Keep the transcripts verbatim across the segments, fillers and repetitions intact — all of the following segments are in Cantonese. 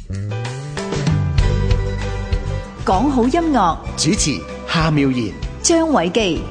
講好音樂， 主持夏妙然、 張偉基。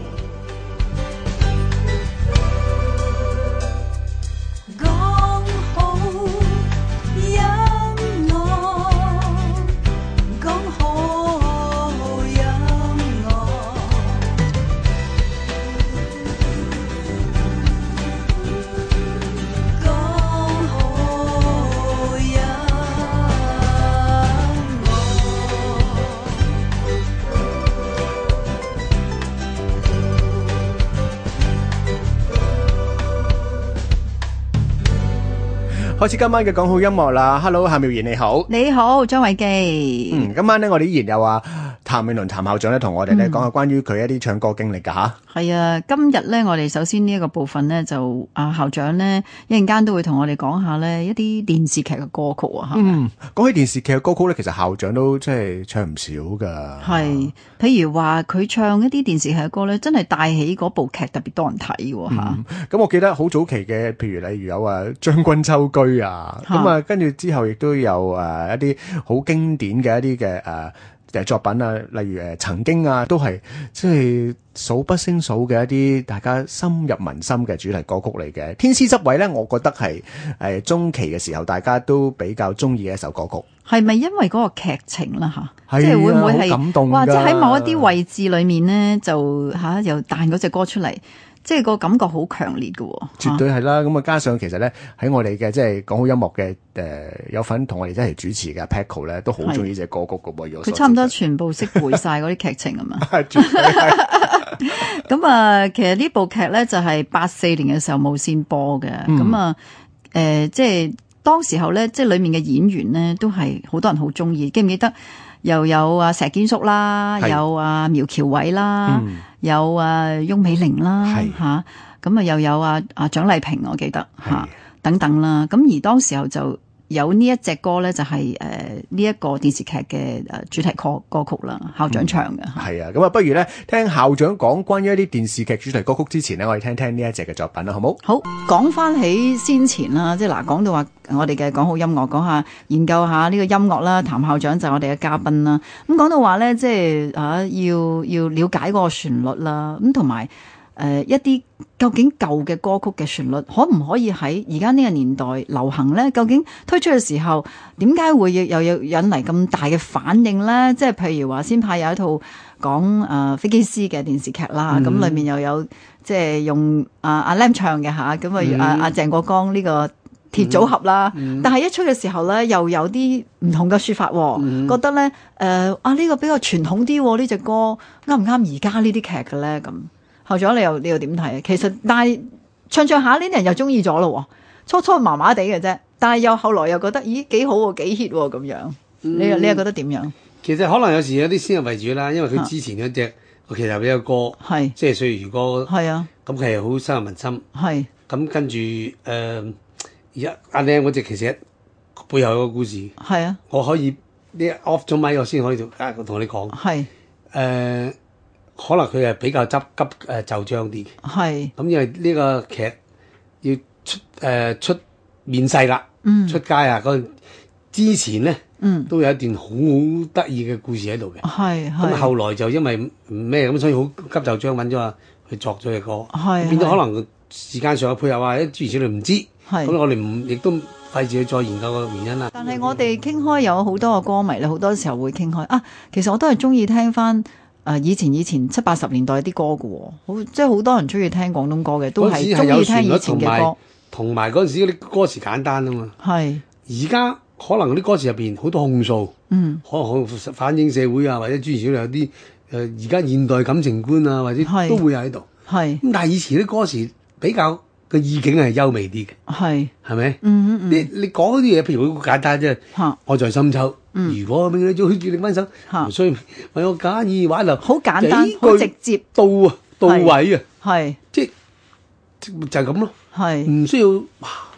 開始今晚嘅講好音樂啦 ，Hello 夏妙然你好， 你好張偉基。 嗯，今晚咧我哋依然有啊譚詠麟譚校長咧同我哋咧講下關於佢一啲唱歌經歷噶吓。 係啊，今日咧我哋首先呢一個部分咧就啊校長咧一陣間都會同我哋講下咧一啲電視劇嘅歌曲啊。 嗯，講起電視劇嘅歌曲咧，其實校長都即係唱唔少噶。 係，譬如話佢唱一啲電視劇嘅歌咧，真係帶起嗰部劇特別多人睇嘅吓。咁、 嗯、我記得好早期嘅，譬如例如有啊將軍秋居啊，咁啊跟住之後亦都有誒、啊、一啲好經典嘅一啲嘅誒。誒作品啊，例如誒曾經啊，都係即係數不勝數嘅一啲大家深入民心嘅主題歌曲嚟嘅。天師執位咧，我覺得係誒中期嘅時候大家都比較中意嘅一首歌曲。 係咪因為嗰個劇情啦吓？ 係啊， 即係會唔會係感動㗎？ 或者喺某一啲位置裏面咧，就吓、啊、又彈嗰隻歌出嚟？即係個感覺好強烈嘅喎， 絕對係啦。咁啊，加上其實咧喺我哋嘅即係講好音樂嘅誒、呃、有份同我哋一齊主持嘅 Paco 咧，都好中意呢隻歌曲嘅喎。 佢差唔多全部識背晒嗰啲劇情啊嘛。 絕對係。 咁啊，其實呢部劇咧就係八四年嘅時候無線播嘅。咁、嗯、啊，誒、呃，即係當時候咧，即係裡面嘅演員咧都係好多人好中意。記唔記得？又有啊石堅叔啦，有啊苗僑偉啦、嗯，有啊翁美玲啦，吓咁啊又有啊啊蔣麗萍，我記得吓、啊、等等啦。咁而當時候就有呢一隻歌咧，就係誒呢一個電視劇嘅誒主題歌歌曲啦，校長唱嘅。 係、嗯、啊，咁啊不如咧聽校長講關於一啲電視劇主題歌曲之前咧，我哋聽聽呢一隻嘅作品啦，好冇？ 好，講翻起先前啦，即係嗱，講到話我哋嘅講好音樂，講下研究下呢個音樂啦。譚校長就係我哋嘅嘉賓啦。咁講到話咧，即係啊，要要了解嗰個旋律啦，咁同埋誒一啲究竟舊嘅歌曲嘅旋律可唔可以喺而家呢個年代流行咧？究竟推出嘅時候點解會又有引嚟咁大嘅反應咧？即係譬如話先派有一套講誒、呃、飛機師嘅電視劇啦，咁、嗯、裏面又有即係用阿阿 Lam 唱嘅吓，咁啊阿阿鄭國江呢個鐵組合啦，嗯嗯、但係一出嘅時候咧，又有啲唔同嘅說法，嗯、覺得咧誒、呃、啊呢、這個比較傳統啲呢隻歌啱唔啱而家呢啲劇嘅咧？咁校長你又你又點睇啊？其實但係唱唱下呢啲人又中意咗咯，初初麻麻地嘅啫，但係又後來又覺得咦幾好喎，幾 hit 喎咁樣，嗯、你你又覺得點樣？ 其實可能有時有啲先入為主啦，因為佢之前嗰隻其實有個歌，係即係歲月如歌，係啊，咁其實好深入民心，係咁跟住誒。呃而家阿靚嗰隻其實背後有個故事，係啊，我可以呢 off 咗咪我先可以同同你講，係誒、呃，可能佢係比較急急誒就章啲嘅，係咁因為呢個劇要出誒、呃、出面世啦，嗯，出街啊嗰之前咧，嗯，都有一段好得意嘅故事喺度嘅，係咁後來就因為咩咁，所以好急就章揾咗啊去作咗嘅歌，係變咗可能時間上嘅配合啊，諸如此類唔知。咁我哋唔亦都費事去再研究個原因啦。但係我哋傾開有好多個歌迷咧，好多時候會傾開啊。其實我都係中意聽翻誒、呃、以前以前七八十年代啲歌嘅喎，好即係好多人中意聽廣東歌嘅，都係中意聽以前嘅歌。同埋嗰陣時嗰啲歌詞簡單啊嘛。係。而家可能嗰啲歌詞入邊好多控訴，嗯，可能反映社會啊，或者諸如此類有啲誒而家現代感情觀啊，或者都會喺度。係。咁但係以前啲歌詞比較。個意境係優美啲嘅，係係咪？嗯嗯，你你講嗰啲嘢，譬如好簡單啫。我在深秋，嗯、如果俾你做住你分手，唔需要為我假意挽留，好簡單，好直接，到啊到位啊，係即係就係咁咯，係唔需要哇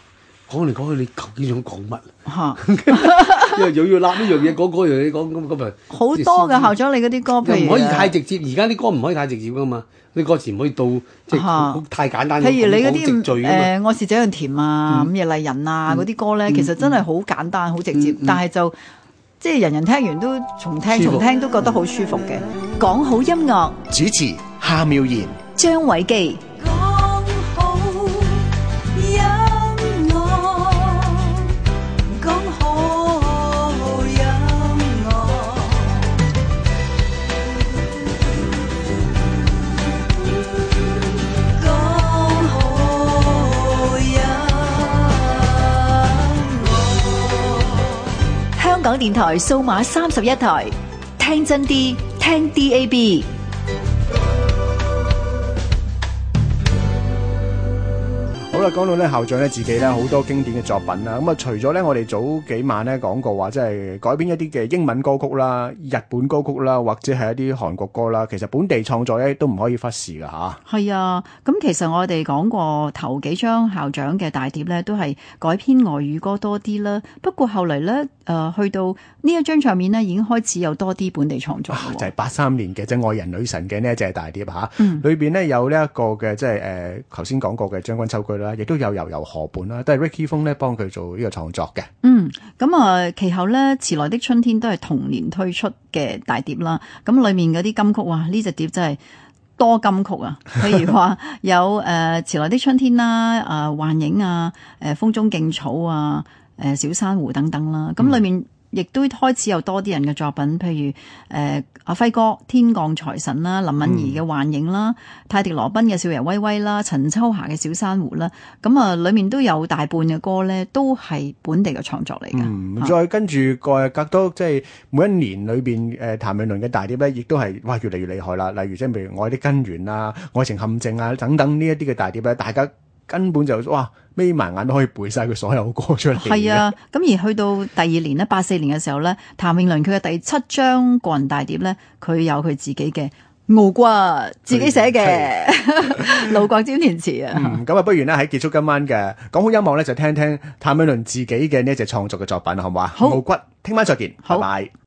講嚟講去，你究竟想講乜？ 嚇， 因為又要揦呢樣嘢講嗰樣嘢講，咁咁咪好多嘅校長，你嗰啲歌，譬如唔可以太直接，而家啲歌唔可以太直接噶嘛，啲歌詞唔可以到即係太簡單。 譬如你嗰啲誒， 愛是這樣甜啊，午夜麗人啊嗰啲歌咧，其實真係好簡單、好直接，但係就即係人人聽完都重聽、重聽都覺得好舒服嘅。 講好音樂， 主持夏妙然、 張偉基。香港電台數碼三十一台，聽真啲，聽 D A B。 好啦，講到咧校長咧自己咧好多經典嘅作品啦，咁啊除咗咧我哋早幾晚咧講過話，即係改編一啲嘅英文歌曲啦、日本歌曲啦，或者係一啲韓國歌啦，其實本地創作咧都唔可以忽視噶吓。係啊，咁其實我哋講過頭幾張校長嘅大碟咧，都係改編外語歌多啲啦。不過後嚟咧，誒去到呢一張唱片咧，已經開始有多啲本地創作、啊。 就係八三年嘅即係愛人女神嘅呢一隻大碟吓，嗯、裏邊咧有呢一個嘅即係誒頭先講過嘅將軍秋居啦，亦都有悠悠河畔啦，都係 Ricky 風咧幫佢做呢個創作嘅。 嗯，咁啊，其後咧遲來的春天都係同年推出嘅大碟啦。咁裏面嗰啲金曲，哇！呢隻碟真係多金曲啊。譬如話有誒遲來的春天啦，誒、呃、幻影啊，誒、呃、風中勁草啊，誒、呃、小珊瑚等等啦。咁裏面亦都開始有多啲人嘅作品，譬如誒、呃、阿輝哥《天降財神》啦，林敏怡嘅《幻影》啦，泰迪羅賓嘅《少爺威威》啦，陳秋霞嘅《小珊瑚》啦，咁啊，裏面都有大半嘅歌咧，都係本地嘅創作嚟嘅。 嗯，啊、再跟住個隔多即係每一年裏邊誒譚詠麟嘅大碟咧，亦都係哇越嚟越厲害啦。例如即係譬如《愛的根源》啊，《愛情陷阱》啊等等呢一啲嘅大碟咧，大家根本就哇眯埋眼都可以背晒佢所有歌出嚟。 係啊，咁而去到第二年咧，八四年嘅時候咧，譚詠麟佢嘅第七張個人大碟咧，佢有佢自己嘅《傲骨》，自己寫嘅，盧國沾填詞啊。 嗯，咁啊，不如呢喺結束今晚嘅講好音樂咧，就聽聽譚詠麟自己嘅呢一隻創作嘅作品，好唔好啊？好，傲骨，聽晚再見，拜拜。